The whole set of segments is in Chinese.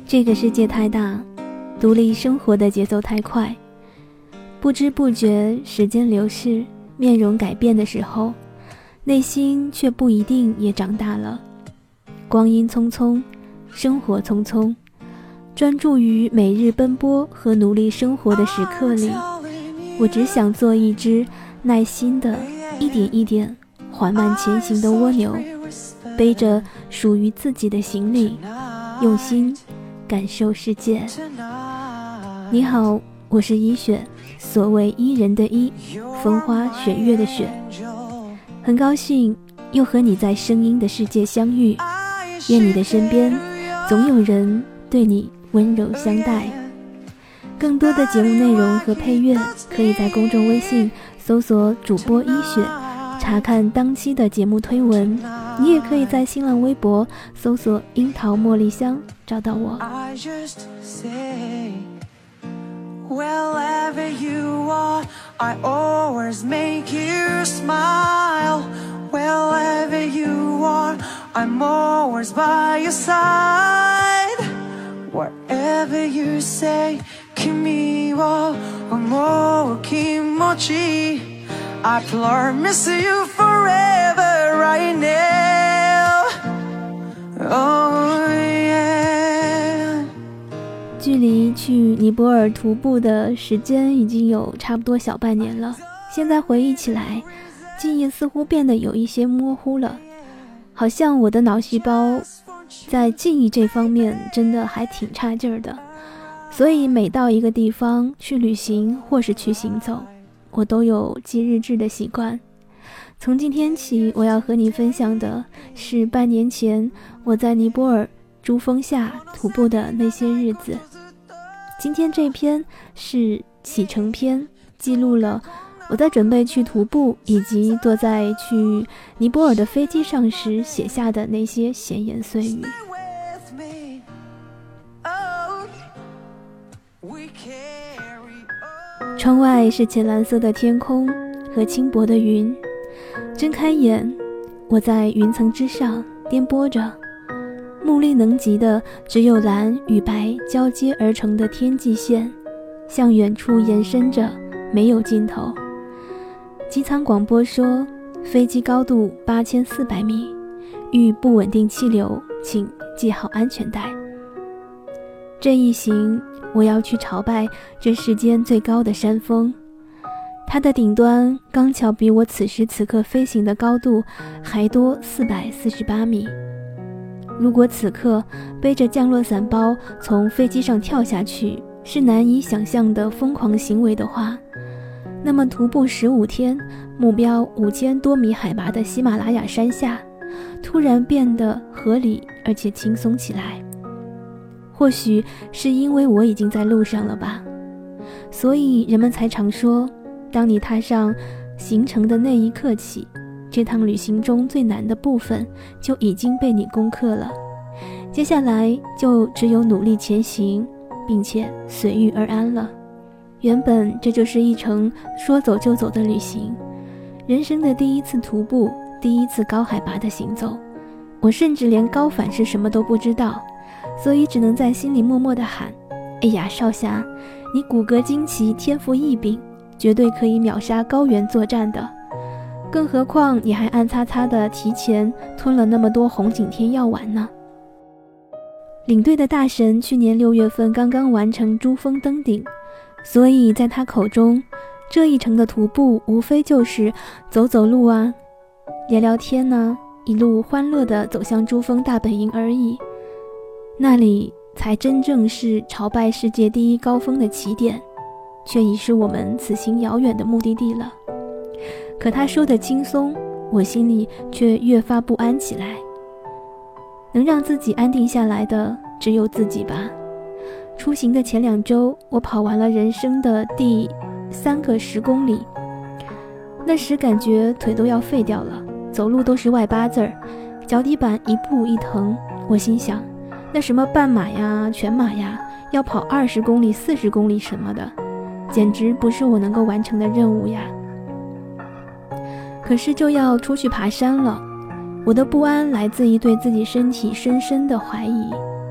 这个世界太大，独立生活的节奏太快，不知不觉时间流逝，面容改变的时候，内心却不一定也长大了。光阴匆匆，生活匆匆，专注于每日奔波和努力生活的时刻里，我只想做一只耐心的一点一点缓慢前行的蜗牛，背着属于自己的行李，用心感受世界。你好，我是依雪，所谓伊人的伊，风花雪月的雪。很高兴又和你在声音的世界相遇，愿你的身边总有人对你温柔相待。更多的节目内容和配乐可以在公众微信搜索主播依雪，查看当期的节目推文。你也可以在新浪微博搜索樱桃茉莉香找到我。 Wherever you are, I always make you smile. Wherever you are, I'm always by your side. Whatever you say, kimi wa omou kimochi, I promise you forever right now. Oh yeah. 距离去尼泊尔徒步的时间已经有差不多小半年了，现在回忆起来，记忆似乎变得有一些模糊了，好像我的脑细胞在记忆这方面真的还挺差劲儿的。所以每到一个地方去旅行或是去行走，我都有记日志的习惯。从今天起，我要和你分享的是半年前我在尼泊尔珠峰下徒步的那些日子。今天这篇是启程篇，记录了我在准备去徒步以及坐在去尼泊尔的飞机上时写下的那些闲言碎语。窗外是浅蓝色的天空和轻薄的云，睁开眼，我在云层之上颠簸着，目力能及的只有蓝与白交接而成的天际线，向远处延伸着，没有尽头。机舱广播说，飞机高度8400米，遇不稳定气流，请系好安全带。这一行，我要去朝拜这世间最高的山峰，它的顶端刚巧比我此时此刻飞行的高度还多448米。如果此刻背着降落伞包从飞机上跳下去是难以想象的疯狂行为的话，那么徒步15天，目标5000多米海拔的喜马拉雅山下，突然变得合理而且轻松起来。或许是因为我已经在路上了吧，所以人们才常说，当你踏上行程的那一刻起，这趟旅行中最难的部分就已经被你攻克了，接下来就只有努力前行，并且随遇而安了。原本这就是一程说走就走的旅行，人生的第一次徒步，第一次高海拔的行走，我甚至连高反是什么都不知道，所以只能在心里默默地喊，哎呀少侠，你骨骼惊奇，天赋异禀，绝对可以秒杀高原作战的，更何况你还暗擦擦地提前吞了那么多红景天药丸呢。领队的大神去年6月份刚刚完成珠峰登顶，所以在他口中，这一程的徒步无非就是走走路啊，聊聊天啊，一路欢乐地走向珠峰大本营而已。那里才真正是朝拜世界第一高峰的起点，却已是我们此行遥远的目的地了。可他说的轻松，我心里却越发不安起来。能让自己安定下来的只有自己吧。出行的前2周，我跑完了人生的第3个10公里，那时感觉腿都要废掉了，走路都是外八字儿，脚底板一步一疼。我心想，那什么半马呀、全马呀，要跑20公里、40公里什么的，简直不是我能够完成的任务呀。可是就要出去爬山了，我的不安来自于对自己身体深深的怀疑，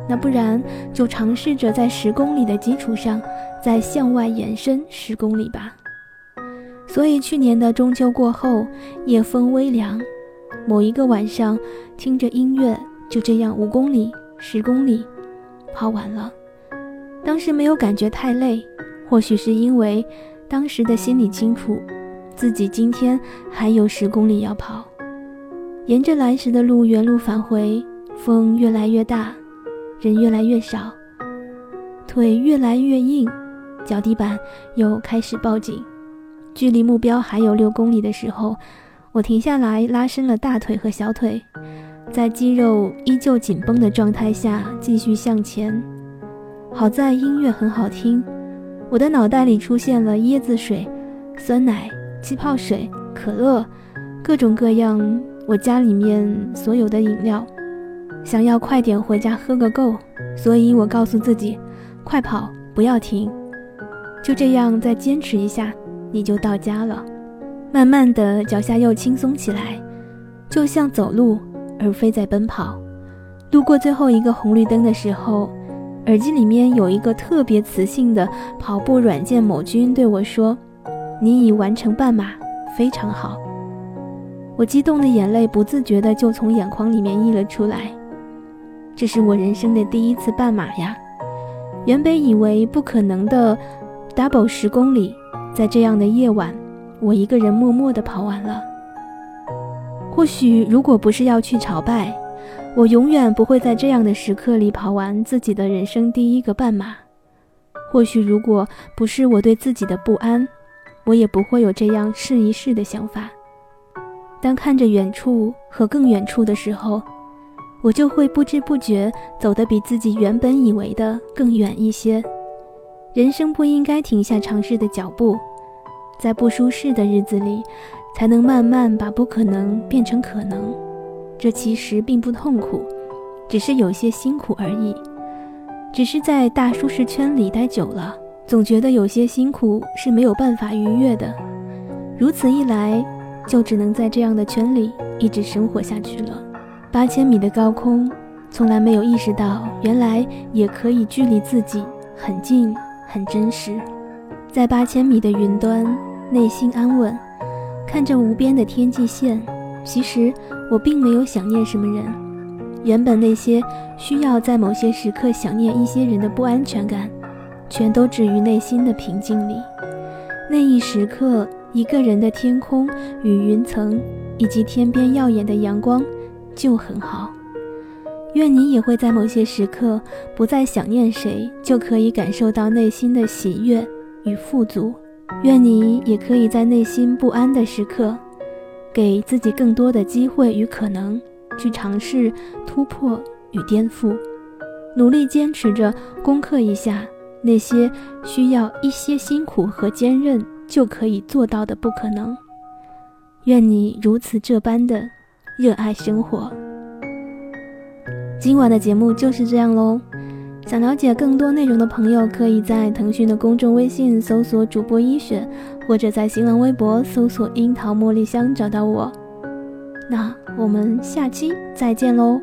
那不然就尝试着在10公里的基础上再向外延伸10公里吧。所以去年的中秋过后，夜风微凉，某一个晚上听着音乐，就这样5公里10公里跑完了。当时没有感觉太累，或许是因为当时的心里清楚自己今天还有10公里要跑。沿着来时的路原路返回，风越来越大，人越来越少，腿越来越硬，脚底板又开始抱紧。距离目标还有6公里的时候，我停下来拉伸了大腿和小腿，在肌肉依旧紧绷的状态下继续向前。好在音乐很好听，我的脑袋里出现了椰子水、酸奶、气泡水、可乐，各种各样我家里面所有的饮料，想要快点回家喝个够，所以我告诉自己，快跑，不要停，就这样再坚持一下，你就到家了。慢慢的脚下又轻松起来，就像走路而非在奔跑。路过最后一个红绿灯的时候，耳机里面有一个特别磁性的跑步软件某君对我说，你已完成半马，非常好。我激动的眼泪不自觉的就从眼眶里面溢了出来。这是我人生的第1次半马呀，原本以为不可能的 double 10公里，在这样的夜晚，我一个人默默地跑完了。或许如果不是要去朝拜，我永远不会在这样的时刻里跑完自己的人生第1个半马。或许如果不是我对自己的不安，我也不会有这样试一试的想法。当看着远处和更远处的时候，我就会不知不觉走得比自己原本以为的更远一些。人生不应该停下尝试的脚步，在不舒适的日子里，才能慢慢把不可能变成可能。这其实并不痛苦，只是有些辛苦而已。只是在大舒适圈里待久了，总觉得有些辛苦是没有办法逾越的。如此一来，就只能在这样的圈里一直生活下去了。8000米的高空，从来没有意识到原来也可以距离自己很近很真实。在8000米的云端，内心安稳，看着无边的天际线，其实我并没有想念什么人。原本那些需要在某些时刻想念一些人的不安全感，全都置于内心的平静里。那一时刻，一个人的天空与云层，以及天边耀眼的阳光就很好。愿你也会在某些时刻不再想念谁，就可以感受到内心的喜悦与富足。愿你也可以在内心不安的时刻，给自己更多的机会与可能，去尝试突破与颠覆，努力坚持着攻克一下那些需要一些辛苦和坚韧就可以做到的不可能。愿你如此这般的热爱生活。今晚的节目就是这样咯。想了解更多内容的朋友，可以在腾讯的公众微信搜索主播一雪，或者在新浪微博搜索樱桃茉莉香找到我。那我们下期再见咯。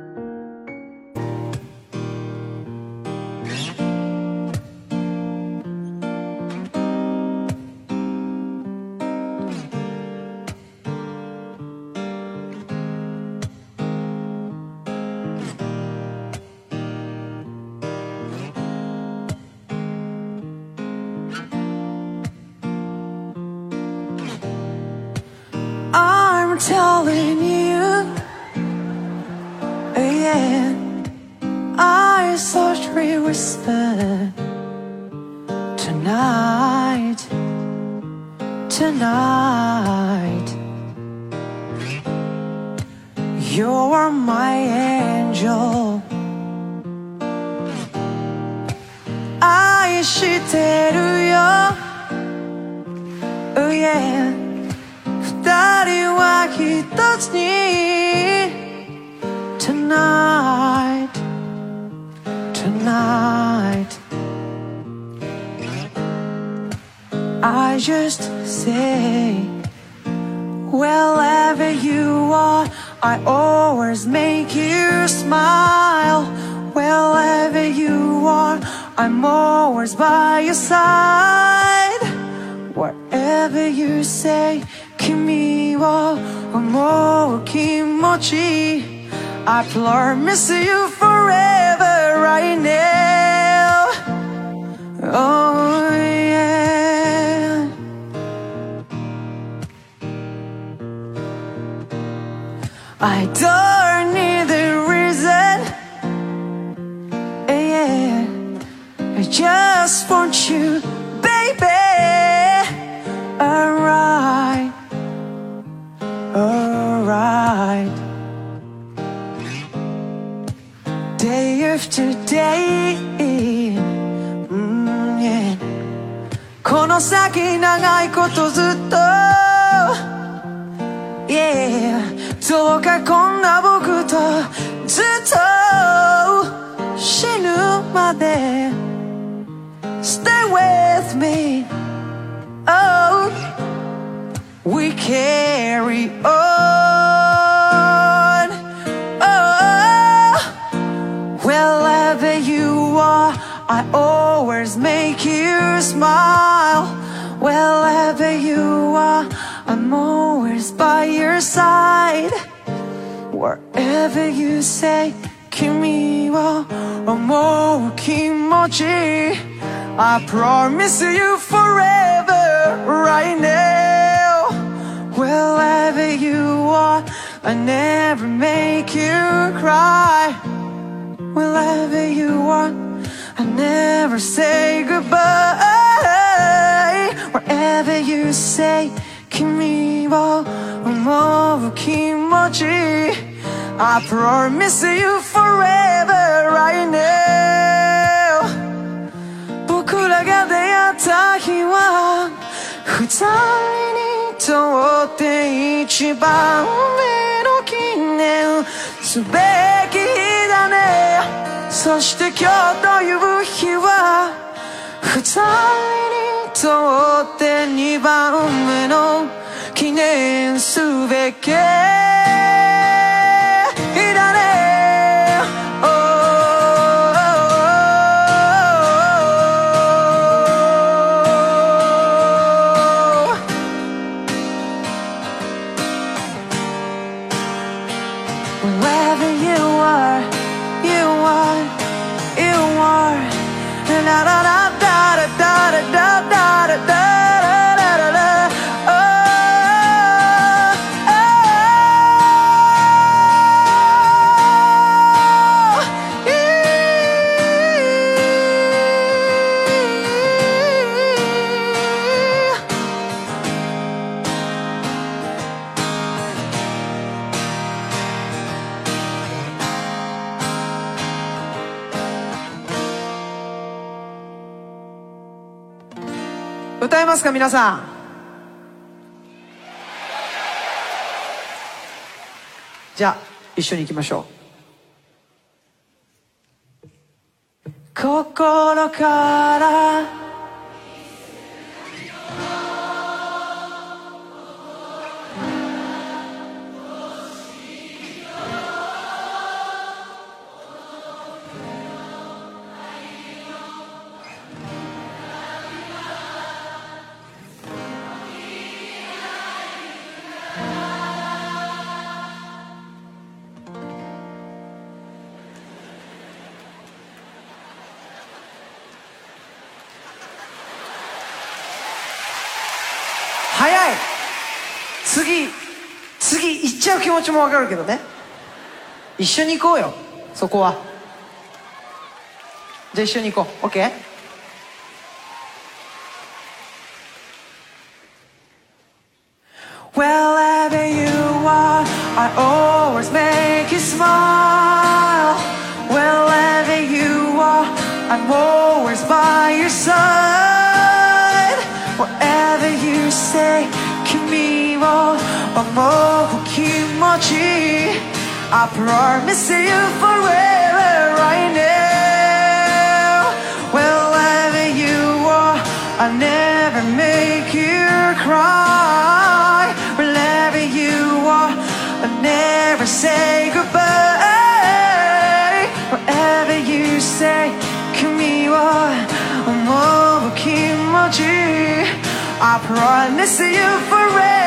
Telling you, yeah, I softly whisper tonight, tonight. You're my angel. 愛してるよ Oh yeah二人は一つに Tonight Tonight I just say Wherever you are I always make you smile Wherever you are, I'm always by your side. Whatever you say, 君を思う気持ち I promise you forever right now. Oh yeah. I don't need a reason. Yeah. I just want you, baby. Alright. Alright. Day after day, yeah. この先長いことずっと Yeah どうかこんな僕とずっと死ぬまで Stay with me Oh We carry on Oh Wherever you are I always make you smile Wherever you are I'm always by your side Whatever you say 君を思う気持ち I promise you forever right now Wherever you are I never make you cry Wherever you are I never say goodbye Wherever you say 君を思う気持ち I promise you forever right now 僕らが出会った日は二人にとって一番目の記念すべき日だねそして今日という日は二人にとって二番目の記念すべき日だね Wherever you are, you are, you are. Da da da da da da da da da da da da da. Oh, oh, yeah. 歌えますか皆さんじゃあ一緒に行きましょう心から早い次行っちゃう気持ちもわかるけどね一緒に行こうよそこはじゃあ一緒に行こう OK? Wherever you are I always make you smile Wherever you are I'm always by your side Whatever you say 君を思う気持ち I promise you forever right now Wherever you are I never make you cry Wherever you are I never say goodbye Wherever you 思う気持ち I promise you forever